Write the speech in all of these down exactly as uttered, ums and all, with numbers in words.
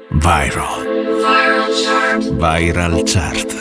Viral. Viral Chart. Viral Chart.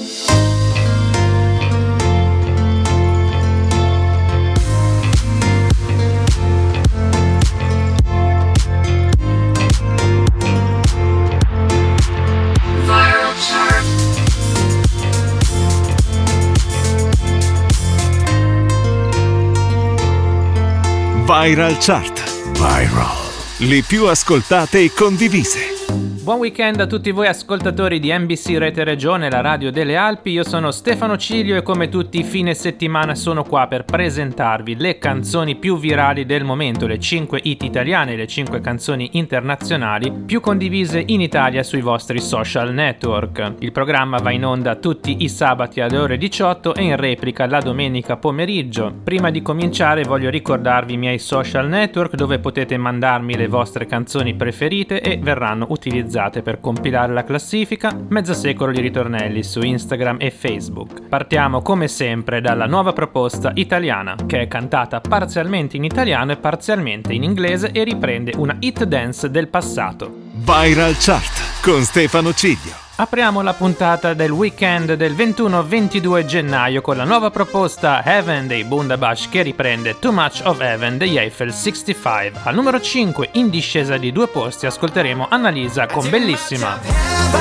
Viral Chart. Viral. Le più ascoltate e condivise. Buon weekend a tutti voi ascoltatori di N B C Rete Regione, la radio delle Alpi. Io sono Stefano Cilio e come tutti i fine settimana sono qua per presentarvi le canzoni più virali del momento, le cinque hit italiane e le cinque canzoni internazionali più condivise in Italia sui vostri social network. Il programma va in onda tutti i sabati alle ore diciotto e in replica la domenica pomeriggio. Prima di cominciare voglio ricordarvi i miei social network dove potete mandarmi le vostre canzoni preferite e verranno utilizzate per compilare la classifica. Mezzo secolo di ritornelli su Instagram e Facebook. Partiamo come sempre dalla nuova proposta italiana, che è cantata parzialmente in italiano e parzialmente in inglese e riprende una hit dance del passato. Viral Chart con Stefano Ciglio. Apriamo la puntata del weekend del ventuno ventidue gennaio con la nuova proposta Heaven dei Bundabash che riprende Too Much of Heaven degli Eiffel sessantacinque. Al numero cinque, in discesa di due posti, ascolteremo Annalisa con Bellissima.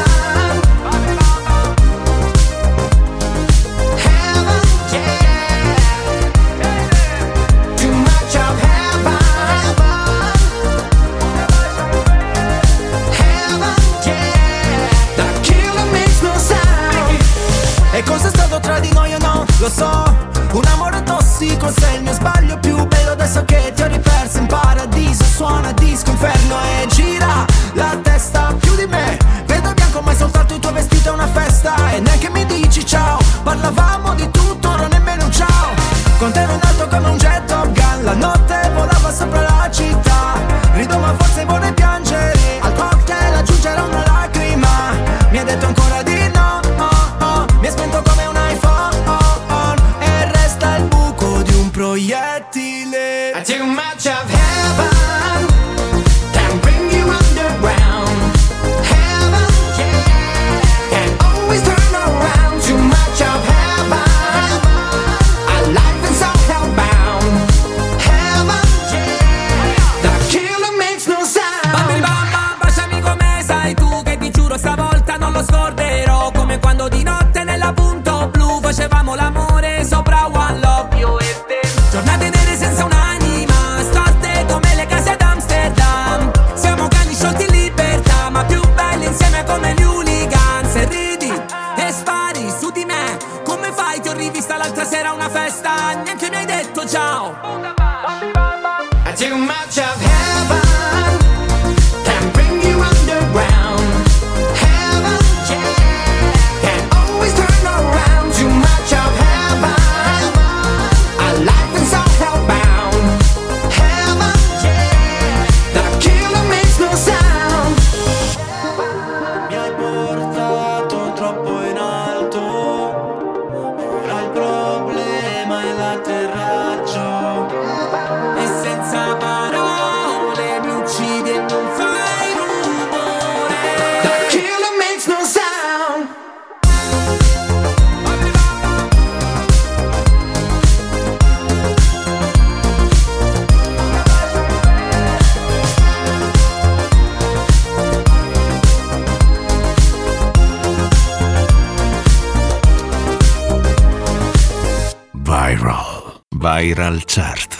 E cosa è stato tra di noi o no? Lo so, un amore tossico, sei il mio sbaglio più bello. Adesso che ti ho riperso in paradiso, suona disco inferno e gira la testa più di me. Vedo bianco ma è soltanto il tuo vestito è una festa. E neanche mi dici ciao, parlavamo di tutto, ora nemmeno un ciao. Con te ero nato come un jet Top Gun, la notte volava sopra la città. Rido ma forse vorrei piangere, al cocktail aggiungerò una lacrima. Mi ha detto ancora di no, mi è spento come un iPhone e resta il buco di un proiettile. I too much of heaven can bring you underground. Heaven, yeah, can always turn around. Too much of heaven, our life is all hellbound. Heaven, yeah, the killer makes no sound. Bambini bamba, baciami come sai tu, che ti giuro stavolta non lo scorderò. Come quando di notte nella punto blu facevamo l'amore sopra One Love, io e te. Giornate nere senza un'anima, storte come le case ad Amsterdam. Siamo cani sciolti in libertà, ma più belli insieme come gli hooligans. E ridi e spari su di me, come fai? Ti ho rivista l'altra sera a una festa, neanche mi hai detto ciao. I too much of heaven can bring you underground. Heaven, yeah, can always turn around. Too much of heaven, our life is all hellbound. Heaven, yeah, the killer makes no sound. Mi hai portato troppo in alto, ora il problema è l'atterraggio. E senza parole mi uccidi e non fai rumore. The killer makes no sound. Viral. Viral Chart.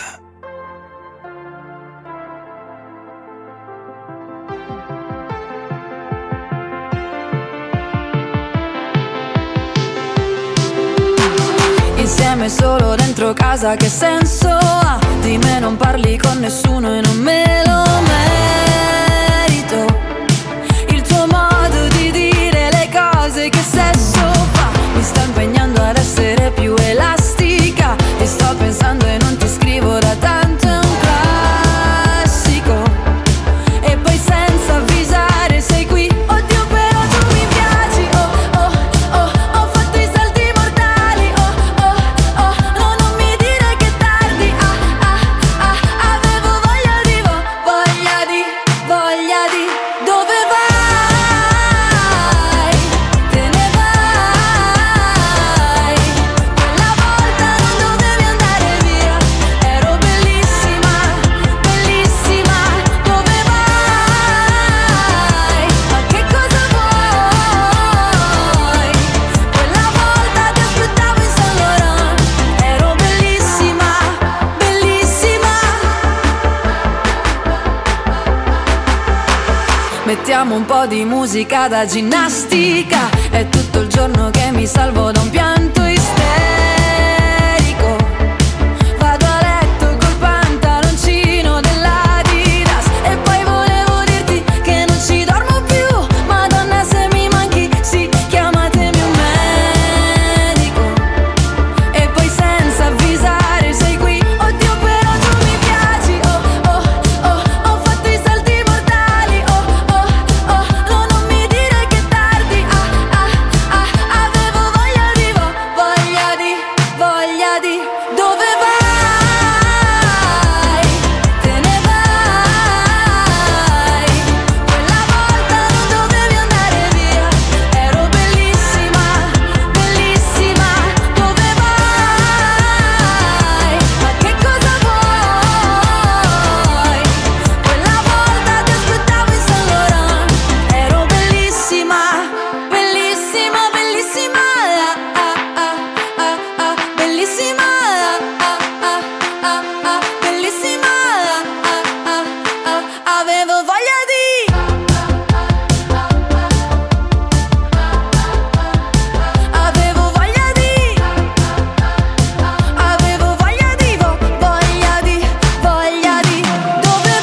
Insieme solo dentro casa che senso ha? Di me non parli con nessuno e non me lo merito. Il tuo modo di dire le cose che sesso fa mi sta impegnando ad essere più elastica. Ti sto pensando e non ti scrivo da tanto, è un classico. E poi senza avvisare sei qui. Oddio però tu mi piaci, oh oh oh, ho fatto i salti mortali, oh oh oh, no non mi dire che tardi, ah ah ah, avevo voglia di, vo- voglia di mettiamo un po' di musica da ginnastica. È tutto il giorno che mi salvo da un pianto isterico. Vado a letto col pantaloncino dell'Adidas e poi volevo dirti che non ci dormo più. Madonna, se mi manchi, sì, chiamatemi un medico. E poi senza avvisare sei qui. Oddio, però tu mi piaci. Oh, oh, oh, ho fatto i salti mortali. Oh, oh, oh, no, non mi dire che è tardi. Ah, ah, ah, avevo voglia di, vo- voglia di, voglia di. Dove vai? Te ne vai. Quella volta non dovevi andare via. Ero bellissima, bellissima. Dove vai? Ma che cosa vuoi? Quella volta ti aspettavo in Saint Laurent. Ero bellissima, bellissima, bellissima. Ah, ah, ah, ah, ah, bellissima. Ah, ah, ah, ah, bellissima. Ah, ah, ah, avevo voglia di. Avevo voglia di. Avevo voglia di, vo- voglia di, voglia di. Dove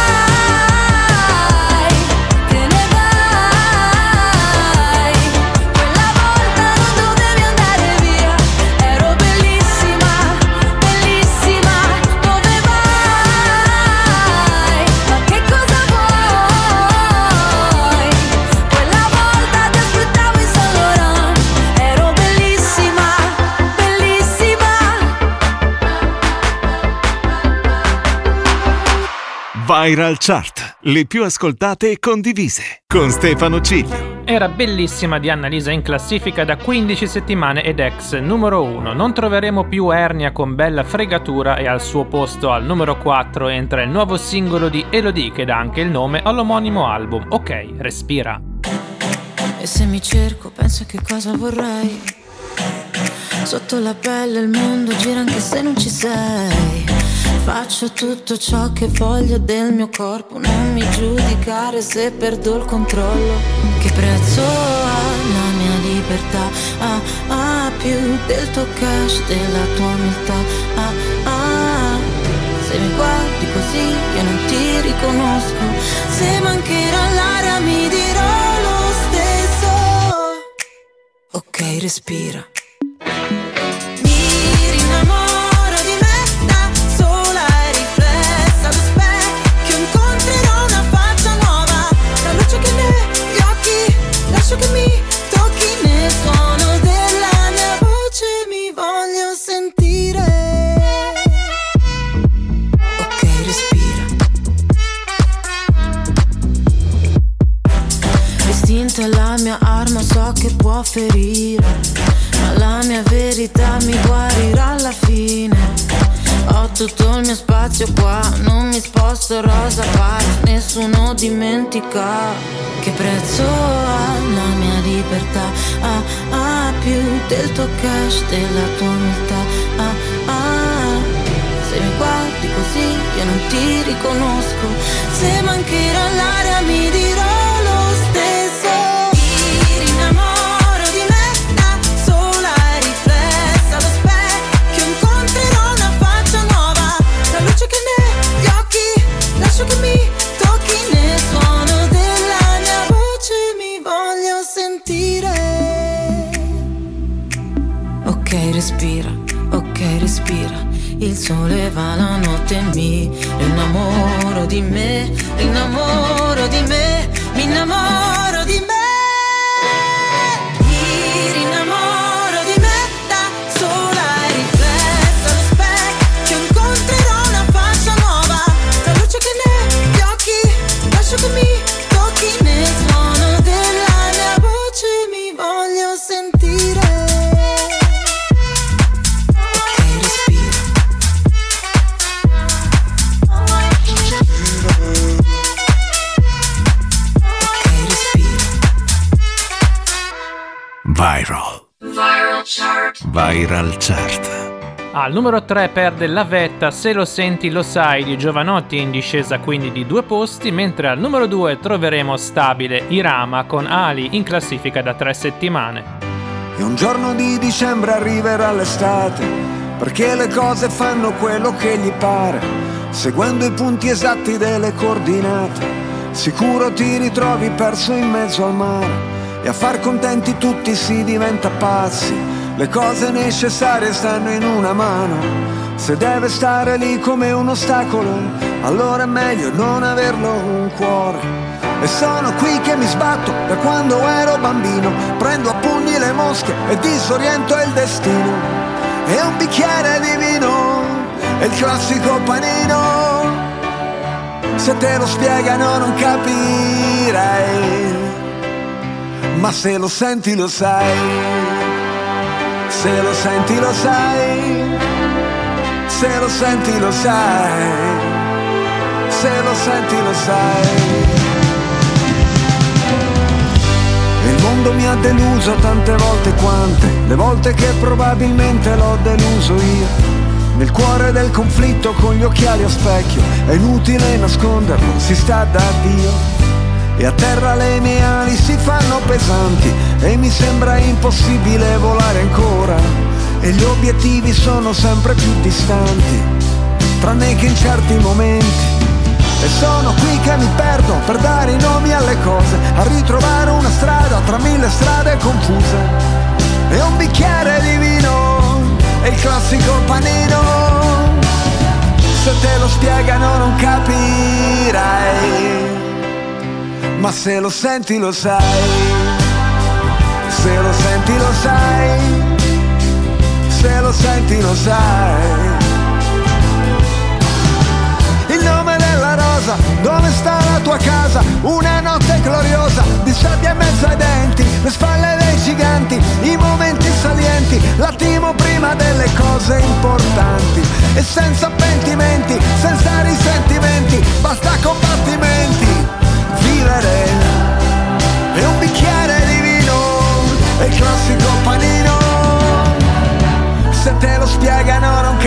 vai? Te ne vai. Quella volta non dovevi andare via. Ero bellissima, bellissima. Dove vai? Ma che cosa vuoi? Quella volta ti aspettavo in Saint Laurent. Ero bellissima, bellissima. Viral Chart, le più ascoltate e condivise, con Stefano Ciglio. Era bellissima di Annalisa in classifica da quindici settimane ed ex numero uno. Non troveremo più Ernia con Bella fregatura e al suo posto al numero quattro entra il nuovo singolo di Elodie che dà anche il nome all'omonimo album. Ok, respira. E se mi cerco, penso a che cosa vorrei. Sotto la pelle il mondo gira anche se non ci sei. Faccio tutto ciò che voglio del mio corpo. Non mi giudicare se perdo il controllo. Che prezzo ha la mia libertà? Ah, ah, più del tuo cash, della tua umiltà. Ah, ah, se mi guardi così io non ti riconosco. Se mancherà l'aria mi dirò lo stesso. Ok, respira. Mi rinnamoro di me da sola e riflessa allo specchio. Incontrerò una faccia nuova. La luce che negli occhi, lascio che mi tocchi nel suono della mia voce. Mi voglio sentire. Ok, respira. L'istinto è la mia arma, so che può ferire, ma la mia verità mi guarirà alla fine. Ho tutto il mio spazio qua, non mi sposto rosa pazza, nessuno dimentica. Che prezzo ha la mia libertà? Ah, ah, più del tuo cash, della tua umiltà. Ah, ah, se mi guardi così io non ti riconosco. Se mancherà l'aria mi dirò lo stesso. Mi rinnamoro di me da sola e riflessa allo specchio. Incontrerò una faccia nuova. La luce che negli occhi, lascio che mi tocchi nel suono della mia voce. Mi voglio sentire. Ok, respira, ok, respira. Il sole va la notte e mi innamoro di me, innamoro di me, mi innamoro di me. Mi rinnamoro di me da sola e riflessa allo specchio. Incontrerò una faccia nuova. La luce che negli occhi, lascio che mi tocchi nel suono della mia voce. Mi voglio sentire. Viral. Viral Chart. Viral Chart. Al numero tre perde La Vetta, Se lo senti lo sai di Giovanotti, in discesa quindi di due posti, mentre al numero due troveremo stabile Irama con Ali, in classifica da tre settimane. E un giorno di dicembre arriverà l'estate, perché le cose fanno quello che gli pare, seguendo i punti esatti delle coordinate. Sicuro ti ritrovi perso in mezzo al mare, e a far contenti tutti si diventa pazzi. Le cose necessarie stanno in una mano, se deve stare lì come un ostacolo, allora è meglio non averlo un cuore. E sono qui che mi sbatto da quando ero bambino, prendo a pugni le mosche e disoriento il destino. E un bicchiere di vino, è il classico panino, se te lo spiegano non capirai, ma se lo senti lo sai. Se lo senti lo sai, se lo senti lo sai, se lo senti lo sai. E il mondo mi ha deluso tante volte quante, le volte che probabilmente l'ho deluso io. Nel cuore del conflitto con gli occhiali a specchio, è inutile nasconderlo, si sta da Dio. E a terra le mie ali si fanno pesanti e mi sembra impossibile volare ancora. E gli obiettivi sono sempre più distanti, tranne che in certi momenti. E sono qui che mi perdo per dare i nomi alle cose, a ritrovare una strada tra mille strade confuse. E un bicchiere di vino, è il classico panino, se te lo spiegano non capirai, ma se lo senti lo sai, se lo senti lo sai, se lo senti lo sai. Il nome della rosa, dove sta la tua casa? Una notte gloriosa, di sabbia in mezzo ai denti, le spalle dei giganti, i momenti salienti, l'attimo prima delle cose importanti. E senza pentimenti, senza risentimenti, basta combattimenti. Vivere e un bicchiere di vino, è il classico panino, se te lo spiegano non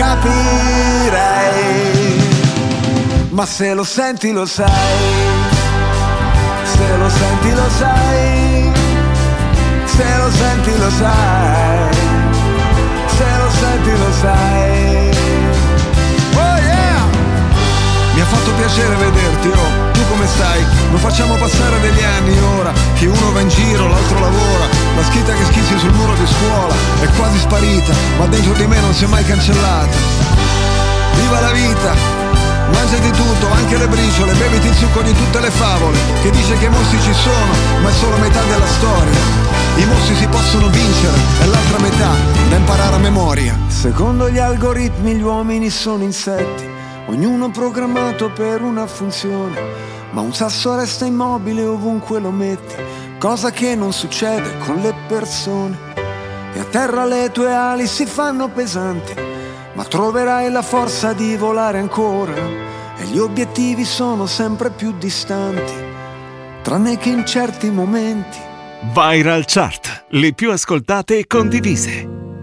capirai, ma se lo senti lo sai, se lo senti lo sai, se lo senti lo sai, se lo senti lo sai. Oh yeah! Mi ha fatto piacere vederti, oh, tu come stai? Lo facciamo passare degli anni ora, che uno va in giro, l'altro lavora, la scritta che schizzi sul muro di scuola è quasi sparita, ma dentro di me non si è mai cancellata. Viva la vita, mangiati tutto, anche le briciole, beviti il succo di tutte le favole, che dice che i mostri ci sono, ma è solo metà della storia. I mostri si possono vincere, è l'altra metà da imparare a memoria. Secondo gli algoritmi gli uomini sono insetti, ognuno programmato per una funzione, ma un sasso resta immobile ovunque lo metti, cosa che non succede con le persone. E a terra le tue ali si fanno pesanti, ma troverai la forza di volare ancora. E gli obiettivi sono sempre più distanti, tranne che in certi momenti. Viral Chart, le più ascoltate e condivise.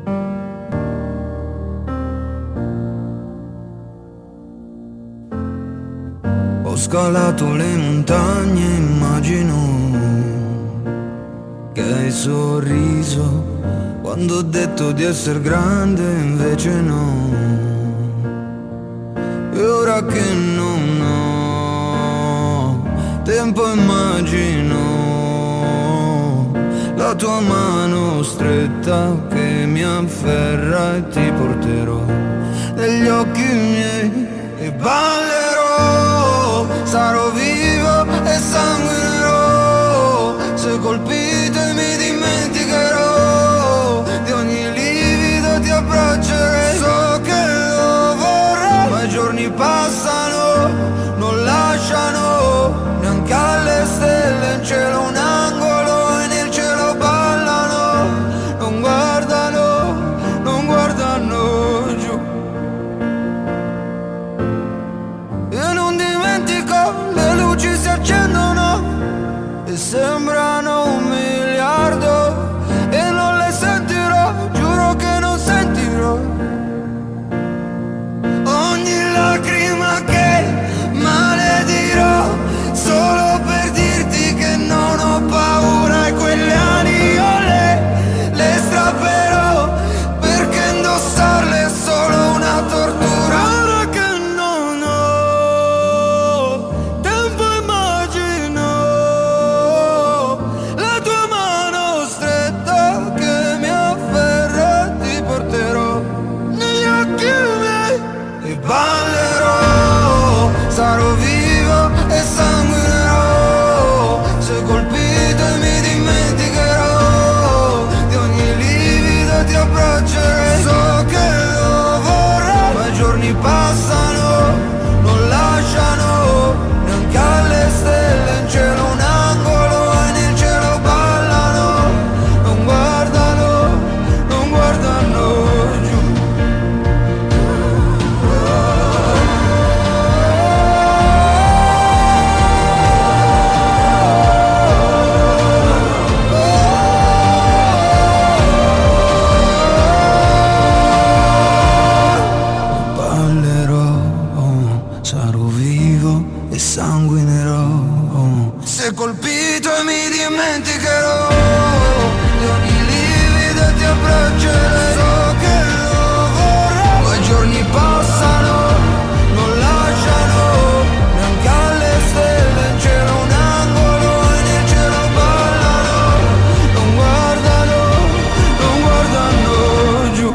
Ho scalato le montagne, immagino che hai sorriso quando ho detto di essere grande, invece no. E ora che non ho tempo immagino la tua mano stretta che mi afferra e ti porterò negli occhi miei e ballerò, sarò vivo e sanguinerò, se colpite mi dimenticherò, di ogni livido ti abbraccerei, so che lo vorrei, ma i giorni passano, non lasciano, neanche alle stelle in cielo un angolo e nel cielo ballano, non guardano, non guardano giù. E non dimentico, le luci si accendono e sembrano un miliardo e non le sentirò, giuro che non sentirò dimenticherò di ogni livido ti abbraccerei. So che lo vorrei. Poi i giorni passano, non lasciano neanche alle stelle in cielo un angolo e nel cielo ballano. Non guardano, non guardano giù.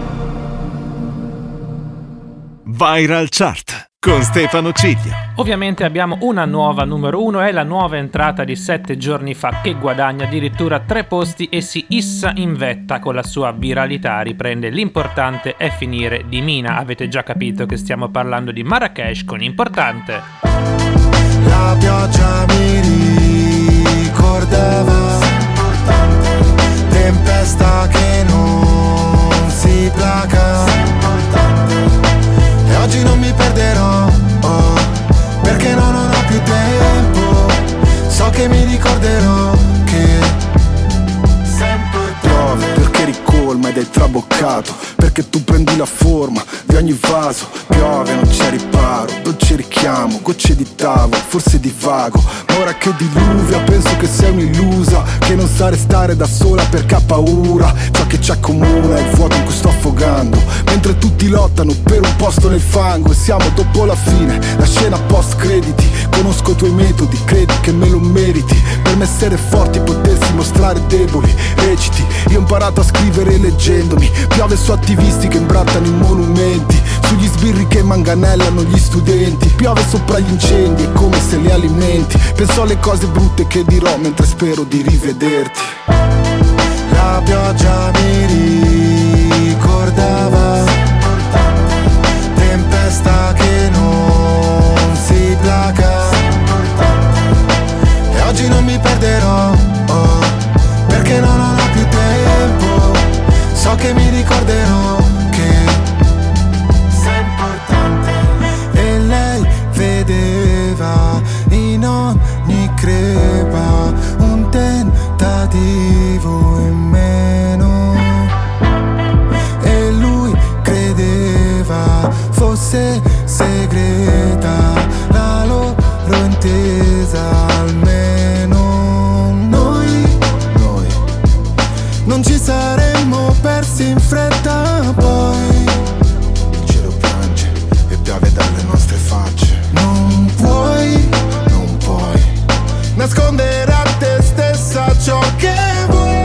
Viral Chart con Stefano Ciglio. Ovviamente abbiamo una nuova numero uno, è la nuova entrata di sette giorni fa che guadagna addirittura tre posti e si issa in vetta con la sua viralità, riprende L'importante è finire di Mina. Avete già capito che stiamo parlando di Marrakesh con Importante. La pioggia mi ricordava, tempesta che non si placa, e oggi non mi perderò, oh, perché no, non ho più tempo. So che mi ricorderò che sempre piove perché ricolma ed è traboccato, perché tu prendi la forma di ogni vaso. Piove, non c'è riparo, dolce richiamo, gocce di tavolo, forse divago. Ma ora che diluvia penso che sei un'illusa, che non sa restare da sola perché ha paura. Ciò che ci accomuna è il vuoto in cui sto affogando, mentre tutti lottano per un posto nel fango. E siamo dopo la fine, la scena post crediti. Conosco i tuoi metodi, credi che me lo meriti. Per me essere forti potersi mostrare deboli. Reciti, io ho imparato a scrivere leggendomi. Piove su attivisti che imbrattano i monumenti, sugli sbirri che manganellano gli studenti. Piove sopra gli incendi, è come se li alimenti. Penso alle cose brutte che dirò mentre spero di rivederti. La pioggia mi ricordava, tempesta che non si placa, e oggi non mi perderò, oh, perché no, non ho più tempo. So che mi ricorderò che sei importante. E lei vedeva in ogni crepa un tentativo in meno, e lui credeva fosse segreta la loro intesa. Almeno noi, noi non ci saremmo persi in fretta. Poi il cielo piange e piove dalle nostre facce. Non puoi, non puoi nascondere a te stessa ciò che vuoi.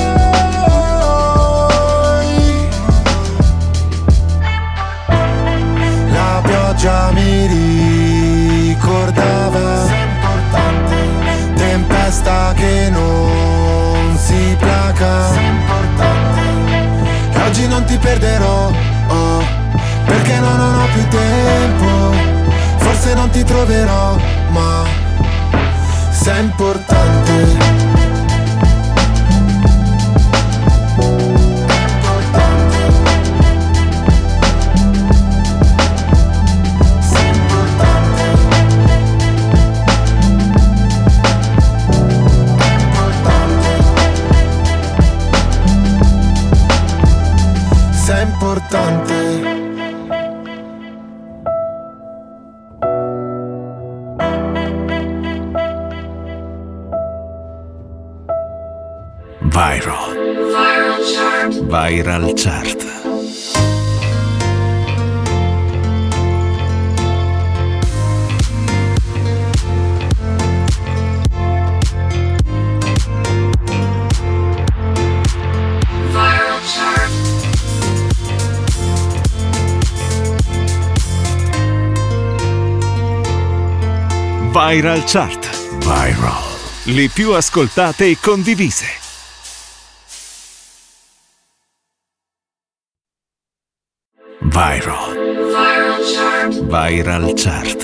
La pioggia mi ricordava, tempesta che non si placa, e oggi non ti perderò, oh, perché no, non ho più tempo. Forse non ti troverò, ma sei importante. Sei importante. Viral. Viral Chart. Viral Chart. Viral Chart. Viral. Le più ascoltate e condivise. Viral. Viral Chart. Viral Chart.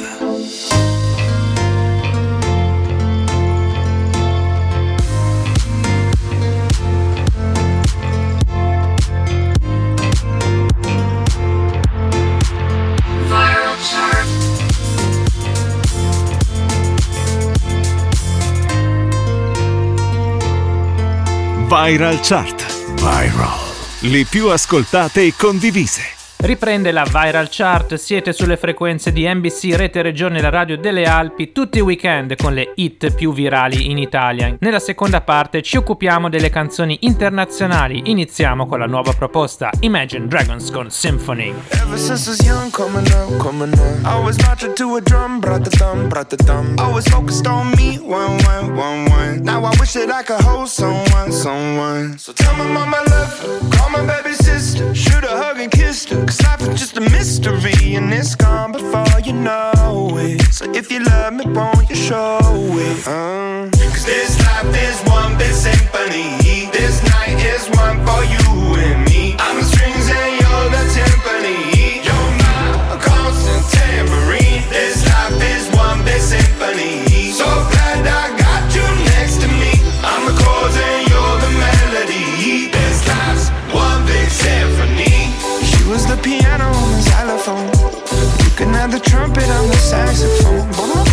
Viral Chart. Viral. Le più ascoltate e condivise. Riprende la Viral Chart, siete sulle frequenze di N B C Rete Regione, la radio delle Alpi, tutti i weekend con le hit più virali in Italia. Nella seconda parte ci occupiamo delle canzoni internazionali, iniziamo con la nuova proposta Imagine Dragons con Symphony. Ever since I was young, coming up, coming up, I was marching to a drum, brought the thumb, brought the thumb. Always focused on me, one, one, one, one. Now I wish that I could hold someone, someone. So tell my mama I love her, call my baby sister, shoot a hug and kiss her. Cause life is just a mystery and it's gone before you know it. So if you love me, won't you show it? Uh. Cause this life is one big symphony. This night is one for you and me. I'm the strings and you're the timpani. You're my constant tambourine. This life is one big symphony. So glad I got you next to me. I'm the chords and you're the melody. This life's one big symphony. She was the piano on the xylophone. You can have the trumpet on the saxophone.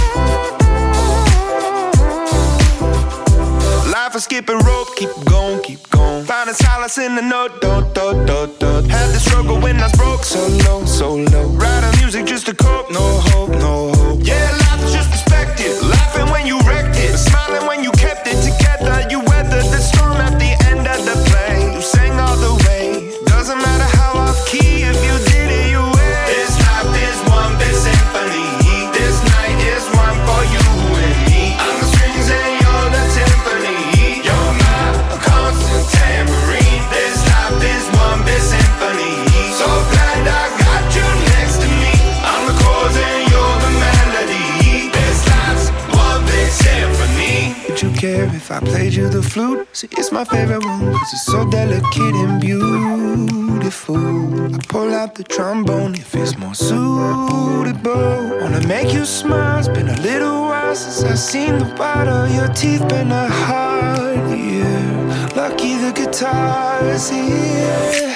Life is skipping rope, keep going, keep going. Finding solace in the note, do, do, do, do. Had the struggle when I was broke, so low, so low. Writing music just to cope, no hope, no hope. Yeah, life is just perspective. Laughing when you wrecked it, smiling when you kept it together. You weathered the storm at the end of the play. You sang all the way. Doesn't matter how off key, if you did it, you win. This life is one big symphony. This night is one for you and me. I'm the strings and you're the timpani. You're my constant tambourine. This life is one big symphony. So glad I got you next to me. I'm the chords and you're the melody. This life's one big symphony. Would you care if I played you the flute? See, it's my favorite one, cause it's so delicate and beautiful. I pull out the trombone if it's more suitable. Wanna make you smile, it's been a little while since I've seen the white of your teeth. Been a hard year, lucky the guitar's here.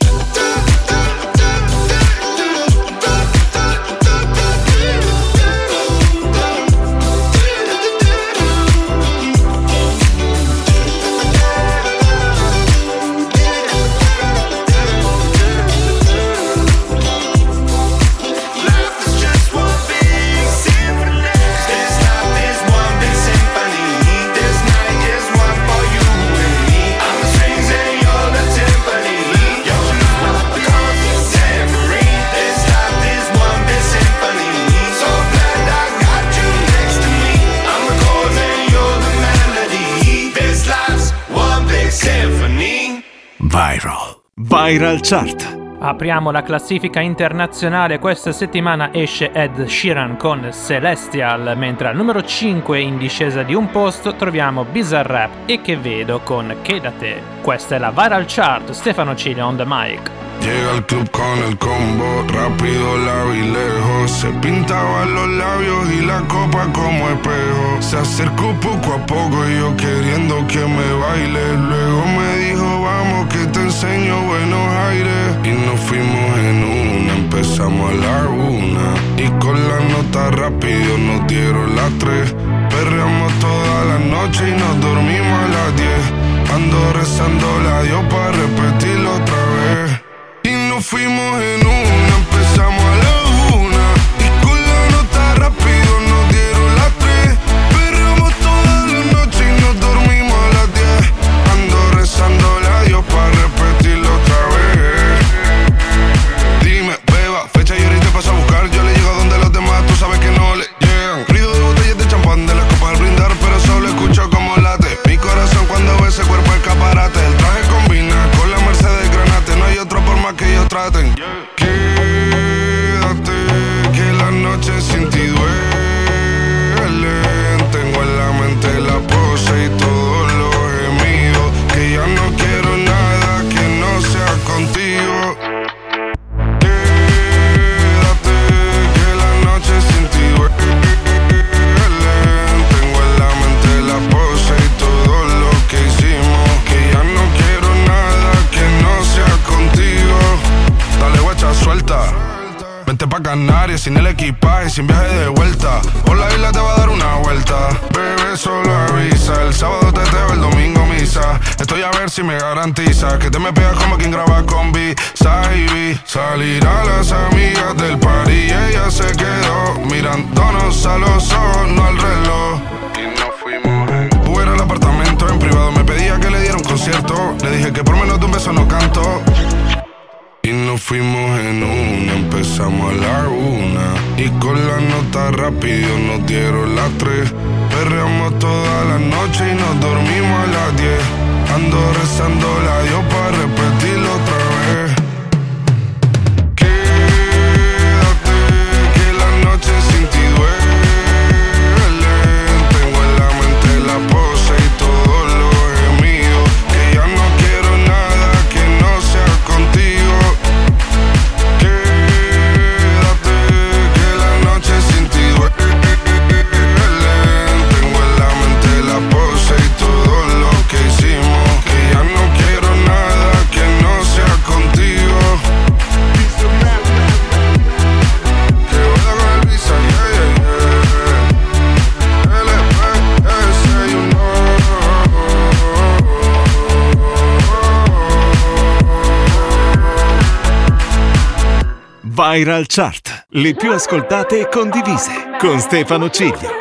Viral. Viral Chart. Apriamo la classifica internazionale, questa settimana esce Ed Sheeran con Celestial, mentre al numero cinque in discesa di un posto troviamo Bizarrap e Che Vedo con Quédate. Questa è la Viral Chart, Stefano Cilio on the mic. Llega al club con el combo, rápido la vi lejos. Se pintaba los labios y la copa como espejo. Se acercó poco a poco y yo queriendo que me baile. Luego me dijo vamos que te enseño buenos aires. Y nos fuimos en una, empezamos a la una. Y con la nota rápido nos dieron las tres. Perreamos toda la noche y nos dormimos a las diez. Ando rezando la Dios para repetirlo otra vez. Y nos fuimos en una, empezamos a la una. Y con la nota rápido nos dieron las tres. Perreamos toda la noche y nos dormimos a las diez. Ando rezando la Dios para repetirlo otra vez. Dime, beba, fecha y ahorita paso a buscar. Yo le llego a donde los demás, tú sabes que no le llegan. Ruido de botellas de champán, de las copas al brindar, pero solo escucho como late mi corazón cuando ve ese cuerpo escaparate. El traje combina con la Mercedes Granate. No hay otro por más que ellos traten. Quédate, que la noche sin ti duele. Tengo en la mente la pose y todos los gemidos. Que ya no quiero nada que no sea contigo. Quédate, que la noche sin ti duele. Tengo en la mente la pose y todo lo que hicimos. Que ya no quiero nada que no sea contigo. Dale guacha, si me garantiza que te me pegas como quien graba con B. Saibi, salir a las amigas del party y ella se quedó mirándonos a los ojos, no al reloj. Y nos fuimos en Uber al apartamento en privado, me pedía que le diera un concierto. Le dije que por menos de un beso no canto. Y nos fuimos en una, empezamos a la una y con la nota rápido nos dieron las tres. Perreamos toda la noche y nos dormimos a las diez. Ando rezando la Dios para repetirlo otra vez. Quédate que la noche sin ti duele. Tengo en la mente la pose y todos los gemidos. Que ya no quiero nada que no sea contigo. Quédate que la noche sin ti duele. Tengo en la mente la pose y todo lo que hicimos. Que ya no quiero nada que no sea contigo. Que vaya con el visa, yeah, yeah, yeah. L P S, you know. Viral Chart, le più ascoltate e condivise, con Stefano Ciglio.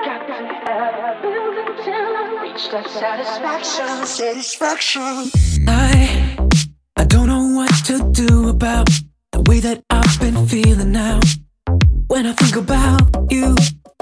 I, I don't know what to do about the way that I've been feeling now. When I think about you,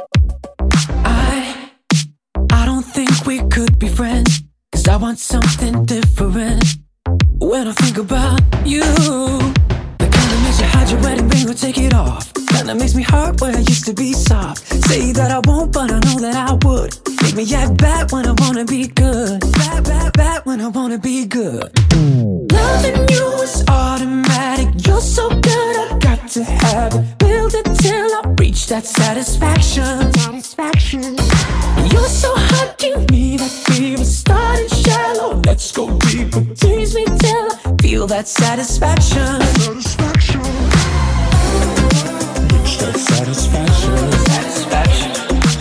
I, I don't think we could be friends, 'cause I want something different. When I think about you, the kind that makes you hide your wedding ring or take it off. Kinda makes me hurt where I used to be soft. Say that I won't, but I know that I would. Make me act bad when I wanna be good. Bad, bad, bad when I wanna be good. Loving you is automatic. You're so good, I got to have it. Build it till I reach that satisfaction. Satisfaction. You're so hot, give me that fever. Starting shallow, let's go deeper. Tease me till I feel that satisfaction. Satisfaction. Reach that satisfaction. Satisfaction.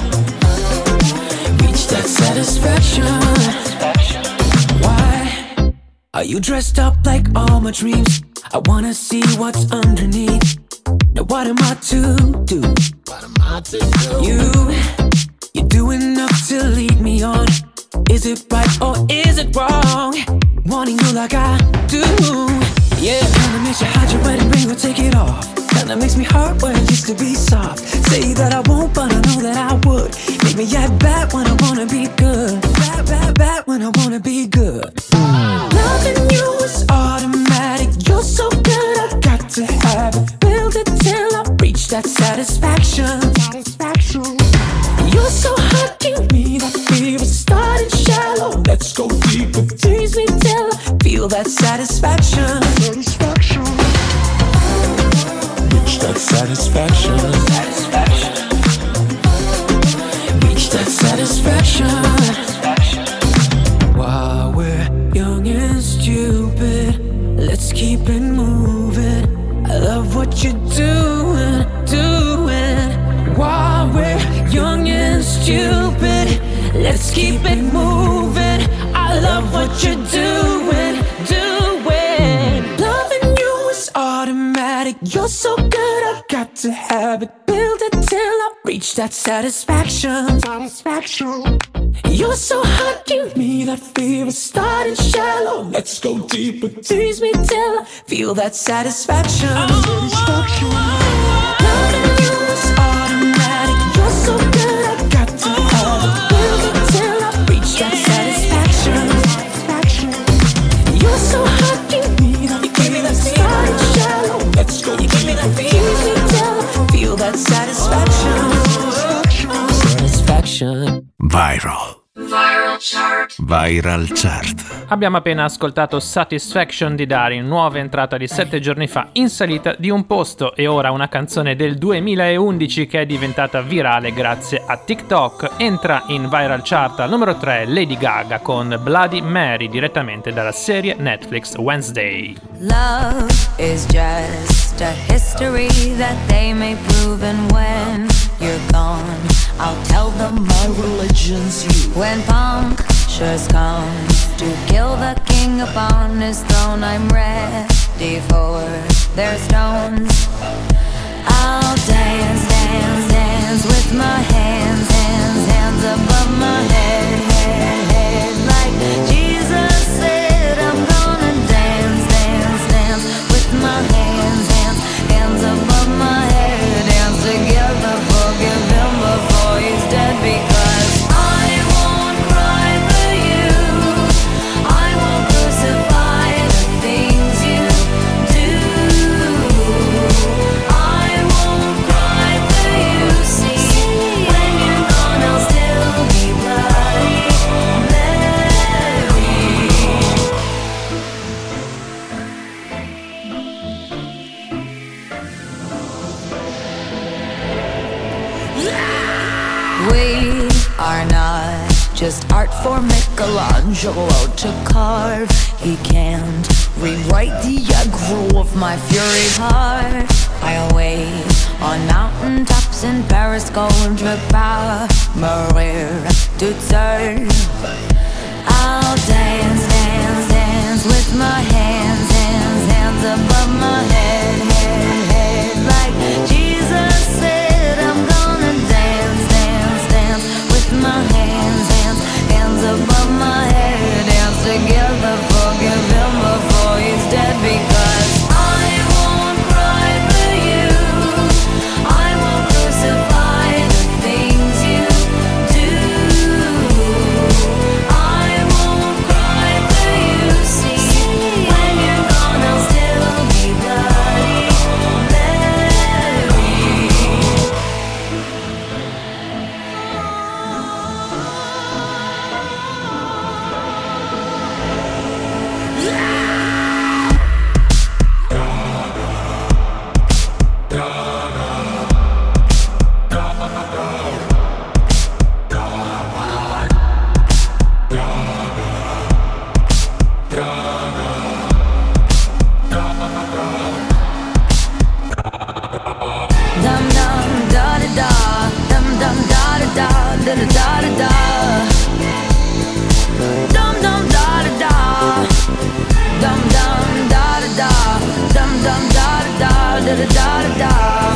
Reach that satisfaction. Satisfaction. Why are you dressed up like all my dreams? I wanna see what's underneath. Now what am I to do? What am I to do? You, you do enough to lead me on. Is it right or is it wrong? Wanting you like I do. Yeah, kinda makes you hide your wedding ring or take it off. Kinda makes me hurt where I used to be soft. Say that I won't, but I know that I would. Make me act bad when I wanna be good. Bad, bad, bad when I wanna be good. Loving you is automatic. You're so good, I got to have it. Build it till I reach that satisfaction. Satisfaction. You're so hot, give me that fever. Starting shallow, let's go deeper. Tease me till I feel that satisfaction. Satisfaction. Reach that satisfaction. Satisfaction. Reach that satisfaction. Satisfaction. While we're young and stupid, let's keep it moving. I love what you're doing, doing. While we're young and stupid, let's keep it moving. I love what you're doing, doing. Loving you is automatic. You're so good, I got to have it. Build it till I reach that satisfaction. Satisfaction. You're so hot, give me that fever. Starting shallow, let's go deeper. Tease me till I feel that satisfaction. Satisfaction. Loving you is automatic. You're so good, I got to have it. Build it till I reach that satisfaction. Satisfaction. You're so hot, give me that fever. Starting shallow, let's go deeper. Tease me till I feel that satisfaction. Satisfaction. Viral. Viral Chart. Viral Chart. Abbiamo appena ascoltato Satisfaction di Darin, nuova entrata di sette giorni fa in salita di un posto, e ora una canzone del duemilaundici che è diventata virale grazie a TikTok. Entra in Viral Chart al numero tre Lady Gaga con Bloody Mary, direttamente dalla serie Netflix Wednesday. Love is just a history that they may prove, and when you're gone, I'll tell them my religion's you. When punctuality vultures come to kill the king upon his throne. I'm ready for their stones. I'll dance, dance, dance with my hands, hands, hands above my head, head, head. Like Jesus said, I'm gonna dance, dance, dance with my hands, hands, hands above my head. Dance together, forgive him before he's dead, because I won't cry for you. I won't crucify the things you do. I won't cry for you. See, when you're gone, I'll still be bloody Mary. We are not just art for Michelangelo to carve. He can't rewrite the aggro of my fury heart. I'll wait on mountaintops in Paris, contre pas mourir toute seule. I'll dance, dance, dance with my hands, hands, hands above my head, head, head. Like Jesus said, I'm gonna dance, dance, dance with my hands, hands, hands above my head. Dance together, forgive him before he's dead, because I won't cry for you. I won't crucify the things you do. I won't cry for you. See, when you're gone, I'll still be bloody Mary. Dum dum da da da, dum dum da da da, da da da da da. Dum dum da da da, dum dum da da da, dum dum da da da, da da da da.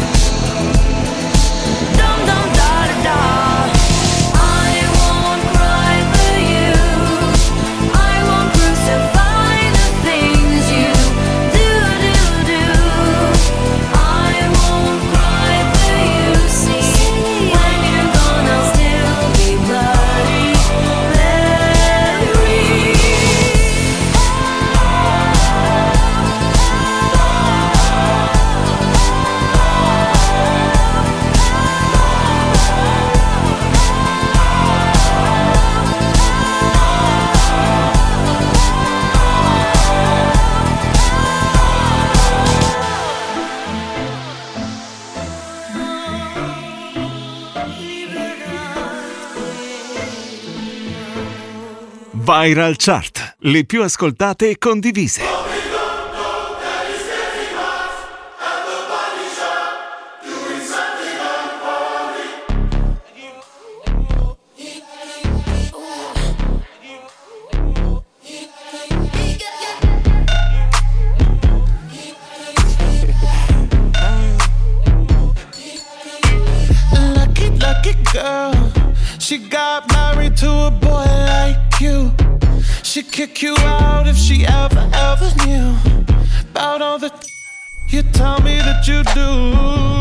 Dum dum da da da. I won't cry for you. I won't crucify the things you do, do, do. I won't cry for you. See, when you're gone, I'll still be bloody Mary. Viral Chart, le più ascoltate e condivise. Lucky, lucky girl. She got married to a boy like you. She'd kick you out if she ever, ever knew about all the you tell me that you do.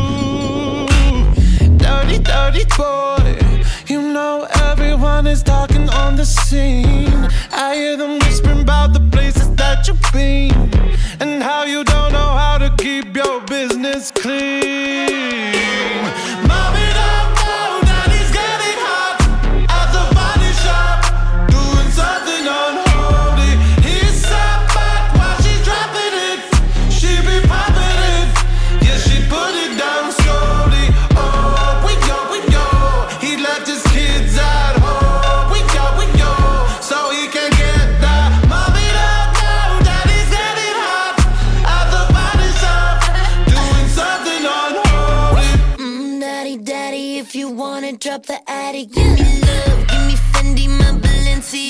Dirty, dirty boy. You know everyone is talking on the scene. I hear them whispering about the places that you've been and how you don't know how to keep your business clean. Mommy, don't know that he's getting hot at the body shop, doing something unholy. He's sat back while she's dropping it. She be popping it, yeah, she put it down slowly. Oh, we go, we go. He left his kids at home. We go, we go, so he can get that. Mommy don't know that he's getting hot at the body shop, doing something unholy. Mm, daddy, daddy, if you wanna drop the attic, give me love, give me Fendi, my Balenciaga.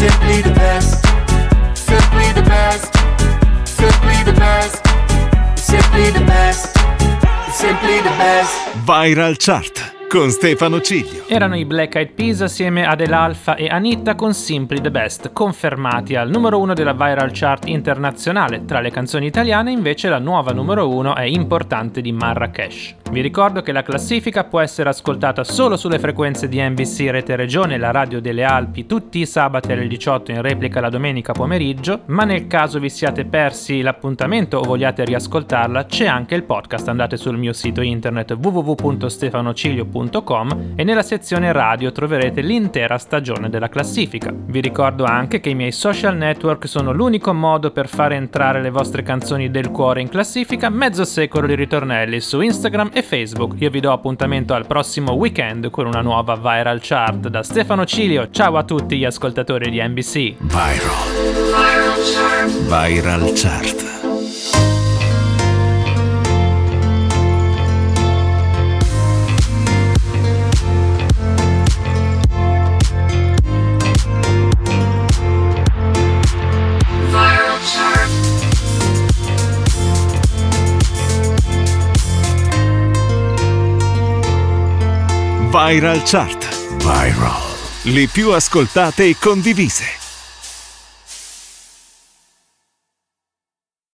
simply the best, simply the best, simply the best, simply the best, simply the best. Viral Chart con Stefano Ciglio. Erano i Black Eyed Peas assieme ad El Alfa e Anitta con Simply the Best, confermati al numero uno della Viral Chart internazionale. Tra le canzoni italiane invece la nuova numero uno è Importante di Marrakesh. Vi ricordo che la classifica può essere ascoltata solo sulle frequenze di N B C Rete Regione, la radio delle Alpi, tutti i sabati alle diciotto, in replica la domenica pomeriggio, ma nel caso vi siate persi l'appuntamento o vogliate riascoltarla, c'è anche il podcast. Andate sul mio sito internet w w w punto stefanociglio punto com e nella sezione radio troverete l'intera stagione della classifica. Vi ricordo anche che i miei social network sono l'unico modo per fare entrare le vostre canzoni del cuore in classifica, mezzo secolo di ritornelli su Instagram e Facebook. Io vi do appuntamento al prossimo weekend con una nuova Viral Chart. Da Stefano Ciglio, ciao a tutti gli ascoltatori di N B C. Viral. Viral Chart. Viral Chart. Viral Chart. Viral. Le più ascoltate e condivise.